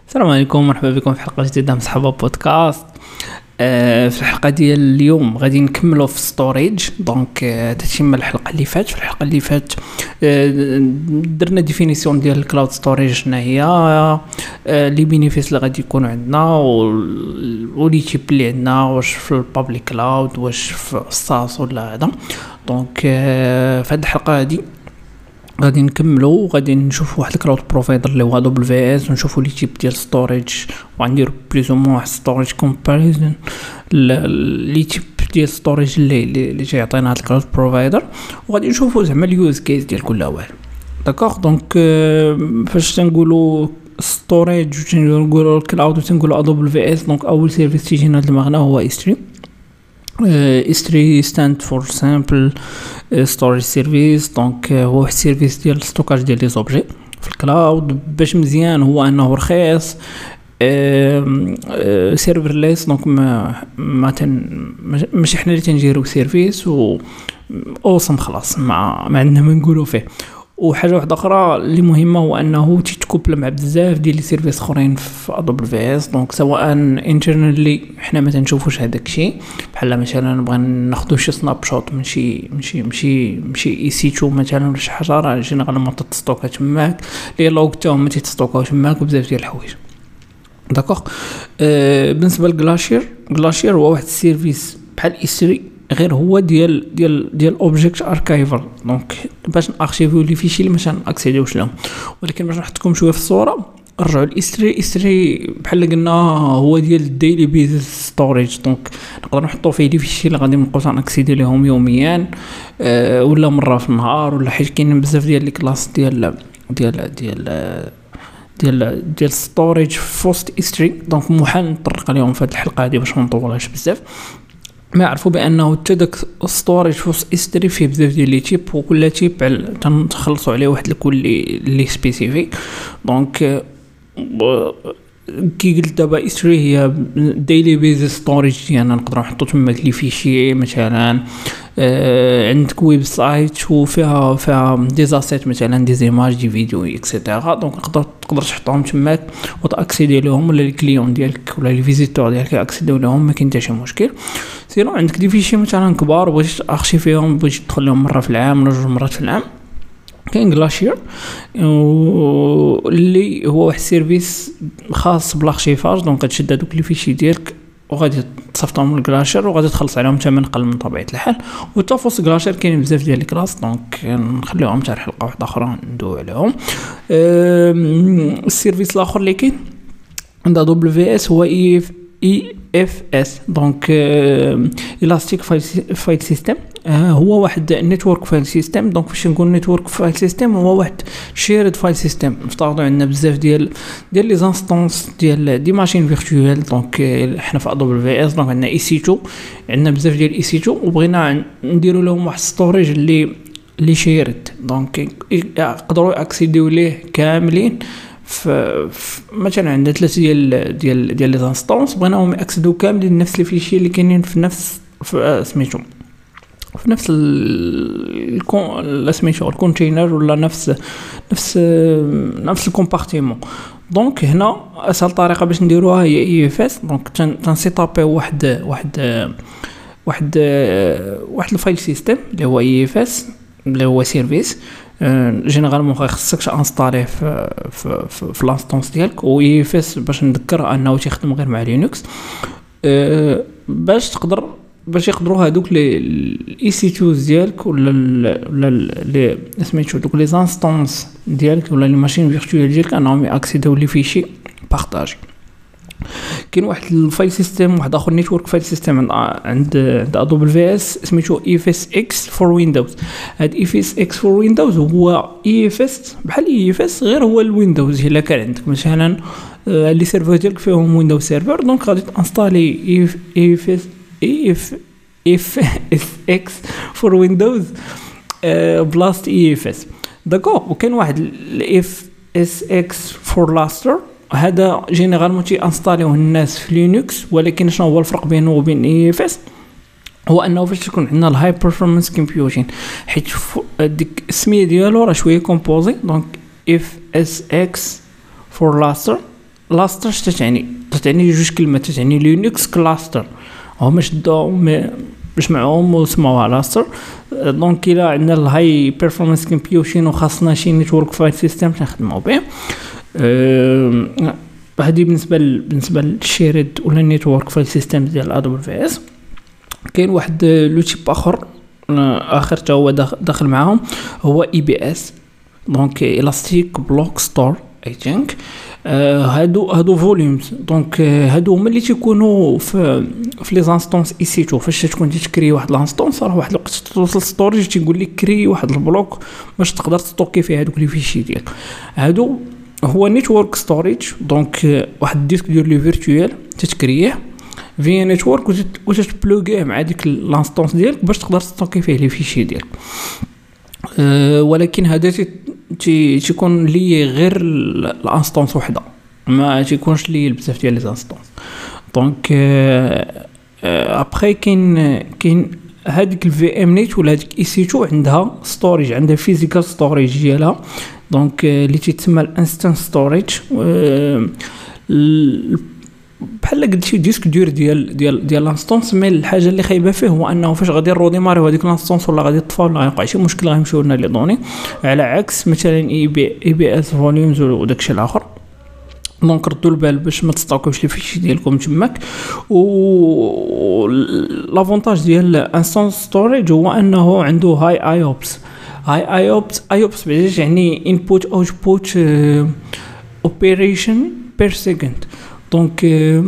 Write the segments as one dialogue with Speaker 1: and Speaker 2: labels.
Speaker 1: السلام عليكم، مرحبا بكم في حلقة جديدة من صحابة بودكاست. في الحلقة ديال اليوم غادي نكملوا في ستوريج. دونك تتم الحلقة اللي فات. في الحلقة اللي فات درنا ديفينيسيون ديال الكلاود ستوريج، شنو هي لي بينيفيس اللي غادي يكونوا عندنا ولي تيب اللي عندنا، واش في البابليك كلاود واش في الساس ولا هذا. دونك في هذه الحلقة هذه غادي نكملوا وغادي نشوفوا واحد الكلاود بروفايدر اللي هو AWS، ونشوفوا لي تيب ديال ستوريج، وغنديروا بليز او موان واحد ستوريج كومباريزون لي تيب ديال ستوريج اللي جايعطينا هاد الكلاود بروفايدر، وغادي نشوفوا زعما اليوز كيس ديال كل واحد. داكوغ. دونك فاش تنقولوا ستوريج وتنقولوا الكلاود وتنقولوا AWS، دونك اول سيرفيس تيجينا لدماغنا هو S3. S3 stand for simple storage service. دونك هو واحد السيرفيس ديال الستوكاج ديال لي زوبجي في الكلاود. باش مزيان هو انه رخيص، سيرفرليس. دونك ماشي حنا اللي تنجيرو سيرفيس و اوصم خلاص ما عندنا ما نقولوا فيه. وحاجه واحده اخرى اللي مهمه هو انه تيتكوبل مع بزاف ديال لي سيرفيس اخرين في AWS. دونك سواء انترنالي حنا ما تنشوفوش هذاك الشيء، بحال مثلا نبغي ناخذ شي سناب شوت من شي EC2 مثلا ولا شي حاجه، راه جينيرالمون تستوكا تماك، لي لوغ تاعهم ما تيتستوكاو تماك، وبزاف ديال الحوايج. داكوغ. بالنسبه لغلاشير هو واحد السيرفيس بحال S3، غير هو ديال اوبجيكت اركايفر. دونك باش نارشيفيو لي فيشي اللي مثلا اكسيديوش لهم. ولكن باش نحطكم شويه في الصوره، رجعوا ل S3 بحال قلنا هو ديال الديلي بيز ستوريج. دونك نقدر نحطوا فيه لي فيشي اللي غادي نبقاو ناكسيدي لهم يوميا، ولا مره في النهار، ولا حيت كاينين بزاف ديال لي كلاس ديال ستوريج في وسط S3. دونك محال نطرق عليهم في هذه الحلقه هذه باش ما نطولهاش بزاف. ما عرفوا بانه حتى داك ستوريج في S3 فيه بزاف ديال لي تيب، وكل تيب تنخلصوا عليه واحد الكل اللي سبيسيفيك. دونك كي قلت دابا S3 هي ديلي بيز ستوريج ديالنا، نقدروا نحطوا تما لي فيشي مثلا. عندك ويب سايت وفيها دي زاسيت مثلا دي زيماج دي فيديو اكسيتيرا. دونك تقدر تحطهم تماك وتاكسيدي لهم، ولا الكليون ديالك ولا لي فيزيتور ديالك ياكسيديو لهم، ما كاين حتى شي مشكل. سينو عندك دي فيشي مثلا كبار بغيتي تارشيفيهم، بغيتي تدخل لهم مره في العام ولا جوج مرات في العام، كاين غلاشير اللي هو واحد السيرفيس خاص بالارشيفاج. دونك غتشد هذوك لي فيشي ديالك وغادي تصيفطهم للغلاشير، وغادي تخلص عليهم ثمن قل من طبيعه الحال. وتفوس غلاشير كاين بزاف ديال الكلاس، دونك نخليهم حتى حلقه واحده اخرى ندوي عليهم. السيرفيس الاخر اللي كاين عند AWS هو EFS. دونك Elastic File System. هو واحد نيتورك فايل سيستم. دونك فاش نقول نيتورك فايل سيستم هو واحد شيرد فايل سيستم. نفترضوا عندنا بزاف ديال لي زانستونس ديال دي ماشين فيرتوال. دونك حنا في AWS دونك عندنا EC2، عندنا بزاف ديال EC2، وبغينا نديروا لهم واحد ستوريج اللي شيرد. دونك يقدروا اكسيديو ليه كاملين مثلا عندنا 3 ديال لي زانستونس، بغيناهم ياكسيدو كاملين نفس لي فيشي اللي كاينين في نفس سميتو في نفس سميتو الكونتينر، ولا نفس الكومبارتيمون. دونك هنا اسهل طريقه باش نديروها هي EFS. دونك تنسيطابي واحد الفايل سيستم اللي هو EFS اللي هو سيرفيس. جينيرالمون خاصك انستاليه في لانستونس ديالك. و EFS باش نذكر انه تيخدم غير مع لينكس، باش يقدروا هذوك لي EC2 ديالك ولا لي سميتو دوك لي زانستونس ديالك ولا لي ماشين فيرتوال ديالك انهم ياكسيديو لي فيشي بارطاجي. كاين واحد الفايل سيستم واحد اخر نيتورك فايل سيستم عند AWS سميتو EFSX فور ويندوز. هاد EFSX فور ويندوز هو EFS بحال EFS غير هو الويندوز. الا كان عندك مثلا لي سيرفر ديالك فيهم ويندوز سيرفر، دونك غادي تانستالي EFSX فور ويندوز بلاست EFS. داكوغ. وكاين واحد EFSX فور لاستر، هذا جينيرالمون تي انستاليوه الناس في لينكس. ولكن شنو هو الفرق بينه وبين EFS؟ هو انه فاش تكون عندنا الهاي بيرفورمانس كومبيوتين، حيت ديك السميه ديالو راه شويه كومبوزي. دونك EFSX فور لاستر لاستر تتعني جوج كلمات، تتعني لينكس كلاستر، هما شدوهم باش معهم وسموها لاستر. دونك الا عندنا الهاي بيرفورمانس كومبيوتين وخاصنا شي نيتورك فايل سيستم نخدمو به. هذه بالنسبه للشيرد ولا النيتورك فايل سيستم ديال ادوبل في اس. كاين واحد لو تيب اخر تا هو داخل معاهم، هو اي بي اس، دونك الاستيك بلوك ستور اي ثينك. هادو فوليومز، دونك هادو هما اللي تيكونوا في لي زانستونس اي سي 2. فاش تكون تكري واحد لانستونس راه واحد الوقت توصل ستوريج تيقول لك كري واحد البلوك باش تقدر تستوكي فيه هادوك لي فيشي ديالك. هادو هو نيتورك ستوريج، دونك واحد الديسك ديال لي فيرتوال تتكريه فيا نيتورك وتتبلوغيه مع ديك لانستونس ديالك باش تقدر تستوكي فيه لي فيشي ديالك. ولكن هذا تيكون لي غير الانستونس وحده، ما تيكونش لي بزاف ديال لي انستونس. دونك ابري كاين هذيك الفي ام نيت ولا هذيك اي سي 2 عندها ستوريج، عندها فيزيكال ستوريج ديالها، دونك اللي تيتسمى الانستنس ستوريج. بحال قلت شي ديسك دور ديال لانستونس. مي الحاجه اللي خايبه فيه هو انه فاش غادي نروديماريو هذيك لانستونس ولا غادي يطفى ولا غيوقع شي مشكل غيمشيو لنا لي دوني، على عكس مثلا اي بي اس فوليومز وداكشي الاخر. دونك ردوا البال باش ما تستوكوش لي فيشي ديالكم تماك. و لافونتاج ديال انستنس ستوريج هو انه عنده هاي ايوبس. ايوبس بعدا يعني انبوت اوتبوت اوبريشن بير سكند. دونك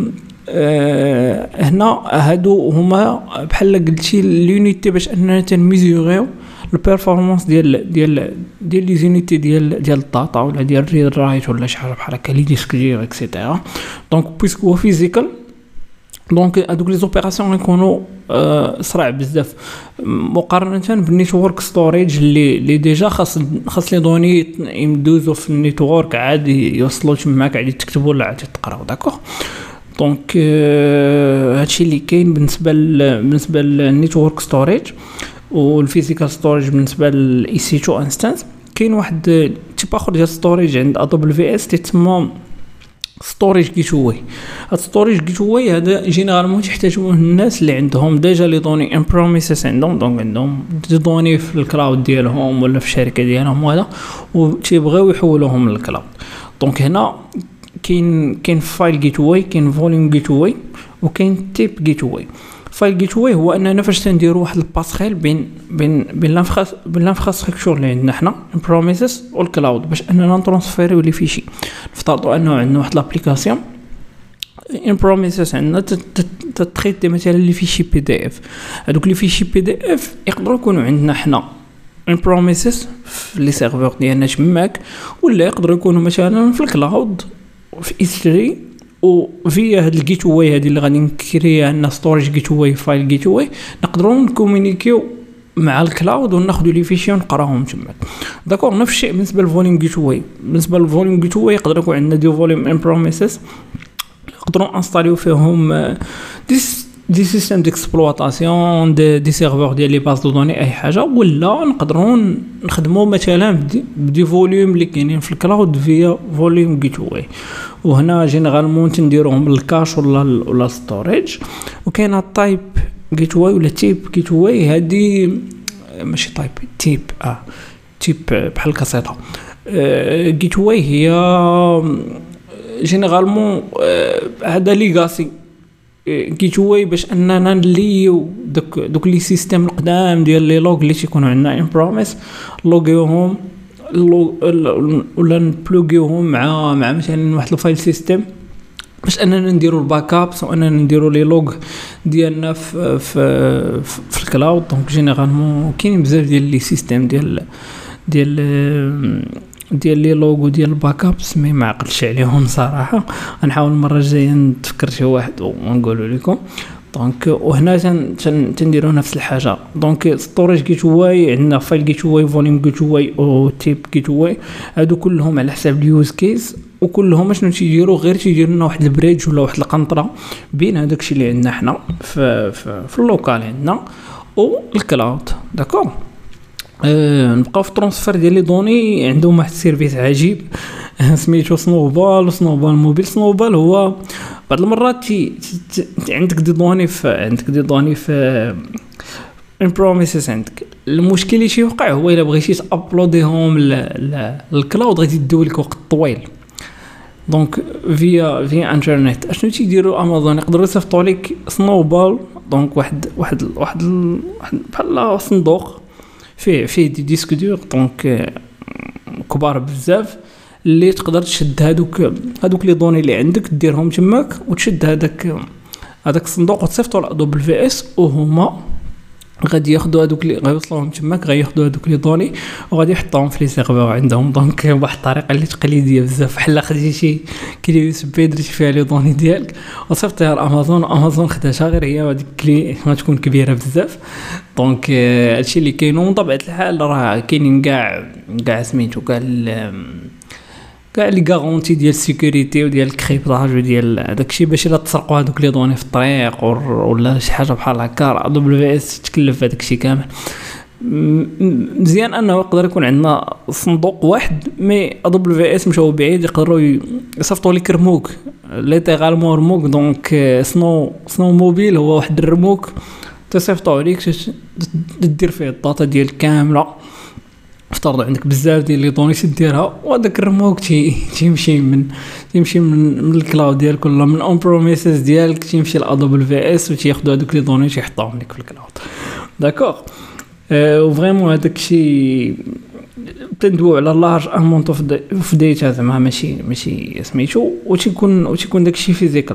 Speaker 1: هنا هادو هما بحال قلتي لونيتي باش اننا تنميزوريو البيرفورمانس ديال لي زونيتي ديال الداتا ولا ديال الريد رايت ولا شي حاجه بحال هكا لي ديسك ديال اكسيتيرا. دونك بويسك هو فيزيكال، دونك هادوك لي زوبيراسيون يكونوا سرع بزاف مقارنه بالنيتورك ستوريج اللي ديجا خاص لي دوني يمدوزو في النيتورك عادي يوصلوا تماك عادي تكتبوا ولا عادي تقراو. داكوغ. دونك هادشي اللي كاين بالنسبه للنيتورك ستوريج. والفيزيكال ستوريج بالنسبه للاي سي 2 انستانس. كاين واحد تيب اخر ديال ستوريج عند ادوبل في اس تسمى ستوريج جيت واي. هاد ستوريج جيت واي هذا جينيرالمون تحتاجوه الناس اللي عندهم ديجا لي دوني ان بروميسز عندهم، دونك عندهم دي دوني في الكلاود ديالهم ولا في الشركه ديالهم وهذا وتيبغيو يحولوهم للكلاود. دونك هنا كاين فايل جيت واي، كاين فوليوم جيت واي، وكاين تيب جيت واي. فايل جيت واي هو اننا فاش تنديروا واحد الباسخيل بين الانفراستركتور اللي عندنا حنا بروميسز والكلاود باش اننا نترانسفيريو لي فيشي. نفترضوا انه عندنا واحد لابليكاسيون ان بروميسز عندنا تتريتي مثلا لي فيشي بي دي اف. هذوك لي فيشي بي دي اف يقدروا يكونوا عندنا حنا ان بروميسز في لي سيرفور ديالنا تماك، ولا يقدروا يكونوا مثلا في الكلاود في اس3. وفيا هاد الجيت واي هادي اللي غادي نكريها عندنا ستوريج جيت واي فايل جيت واي نقدروا نكومونيكيو مع الكلاود وناخذوا لي فيشي ونقراهم تما. داكور. نفس الشيء بالنسبه للفوليوم جيت واي. بالنسبه للفوليوم جيت واي يقدر يكون عندنا دي فوليوم ان بروميسز نقدروا انستاليو فيهم دي سيستم ديكسبلواتاسيون دي سيرفور ديال لي باز دو دوني اي حاجه، ولا نقدروا نخدموا مثلا بدي فوليوم اللي كاينين في الكلاود فيا فوليوم جيت واي. وهنا جينيرالمون تنديروهم بالكاش ولا ستوريج. وكاينه تايب جيت واي ولا تيب جيت واي. هذه ماشي تايب، تيب بحال كاسيطه. جيت واي هي جينيرالمون هذا ليغاسي جيت واي باش اننا نليو دوك لي سيستم القدام ديال لي لوغ اللي تيكونوا عندنا ان بروميس لوغيوهم ولا نبلوغيوهم مع مثلا واحد الفايل سيستم باش اننا نديروا الباك ابس واننا نديروا لي لوغ ديالنا في الكلاود. دونك جينيرالمون كاين بزاف ديال لي سيستم ديال لي لوغو ديال الباك ابس مي ما عقلتش عليهم صراحه. غنحاول المره الجايه نتفكر شي واحد ونقولوا لكم. دونك وهنا تنديروا نفس الحاجه. دونك ستوريج جيت واي عندنا فايل جيت واي فوليوم جيت واي او تيب جيت واي. هادو كلهم على حساب اليوز كيس، وكلهم شنو تيديروا غير تيديروا لنا واحد البريدج ولا واحد القنطره بين هذاك الشيء اللي عندنا حنا في اللوكال عندنا والكلاود. داكور. نبقاو في ترانسفير ديال لي دوني. عندهم واحد السيرفيس عجيب سميتو سنوبال وسنوبال موبيل. سنوبال هو بعض المرات عندك دي دوني في ان بروميسز عندك. المشكل اللي يوقع هو الا بغيتي تابلوديهم للكلاود غادي يديو لك وقت طويل. دونك فيا انترنت اشنو تيديروا امازون يقدروا يصيفطوا لك سنوبال. دونك واحد بحال صندوق فيه دي ديسك دور دونك كبار بزاف اللي تقدر تشد هادوك لي دوني اللي عندك ديرهم تماك وتشد هذاك الصندوق وتصيفطوا لادوبل في اس وهما غادي ياخذوا هذوك اللي غيوصلوهم تماك غياخذوا هذوك لي دوني وغادي يحطوهم في لي سيرفور عندهم. دونك واحد الطريقه اللي تقليديه بزاف بحال خديتي كلي يو اس بي درتي فيها لي دوني ديالك وصيفطيها لامازون خداتها غير هي هذيك كلي ما تكون كبيره بزاف. دونك هادشي اللي كاين. وبطبيعه الحال راه كاينين كاع سميتو كاع لي غارونتي ديال السيكوريتي وديال الكريبتاج وديال داكشي باش الا تسرقوا هذوك لي دوني في الطريق ولا شي حاجه بحال هكا دبليو في اس تكلف هذاكشي كامل. مزيان انه يقدر يكون عندنا صندوق واحد مي دبليو في اس مشاو بعيد يقدروا يصيفطوا لك رموك ليتيغالمون رموك. دونك سنو موبيل هو واحد الرموك تصيفطوا عليك دير فيه الداتا ديال كامله. افترض عندك بزاف ديال لي دوني تديرها وهذاك الرموك تيمشي من الكلاود ديالك ولا من اون بروميسز ديالك تيمشي لادوبل في اس وتياخذوا هذوك لي دوني تيحطوهم لك في الكلاود. داكوغ وفريمون هذاك الشيء تندوي على لارج امونت اوف ديتا زعما ماشي سميتو وتيكون داك الشيء فيزيكال.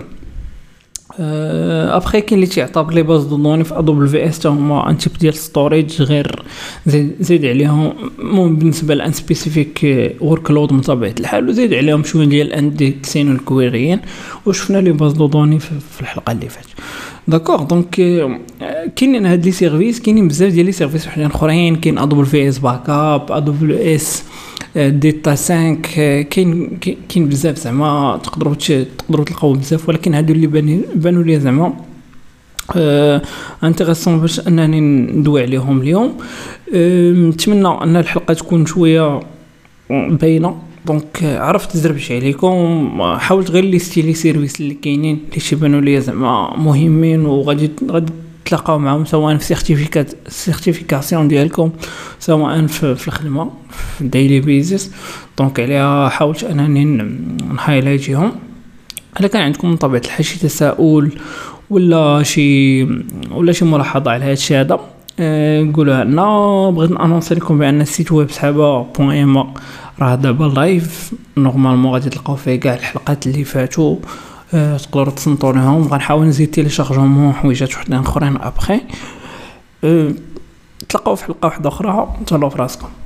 Speaker 1: ابخي كاين اللي تيعطاك لي باز دو دوني في ادوبل في اس هما ان تيب ديال ستوريج غير زيد عليهم بالنسبه لان سبيسيفيك ورك لود من طبيعه الحال وزيد عليهم شويه ديال الاندكسين والكويريين وشفنا لي باز دو دوني في الحلقه اللي فاتت. داكوغ دونك كاينين هاد لي سيرفيس كاينين بزاف ديال لي سيرفيس وحدين اخرين. كاين ادوبل في اس باك اب ادوبل اس ديتا 5 كاين بزاف زعما تقدروا تلقاو بزاف ولكن هادو اللي بانوا لي زعما انتريسون باش انني ندوي عليهم اليوم. نتمنى ان الحلقه تكون شويه باينه. دونك عرفت زربش عليكم حاولت غير لي سيرفيس اللي كاينين اللي تيبانوا لي زعما مهمين وغادي تلاقاو معهم سواء في سيرتيفيكاسيون ديالكم سواء في الخدمه في الديلي بيزنس. دونك عليها حاولت انني نهايلايتيهم. الا كان عندكم من طبيعه الحال شي تساؤل ولا شي ملاحظه على هذا الشيء هذا قولوها لنا. بغيت نانونسي لكم بان السيت ويب سحابه.ام راه دابا لايف نورمالمون غادي تلقاو فيه كاع الحلقات اللي فاتوا تقدروا تصنتونيهم. غنحاول نزيد تيليشارجمون حويجات وحدين اخرين ابخي. تلقاو في حلقه واحده اخرى. تهلاو في راسكم.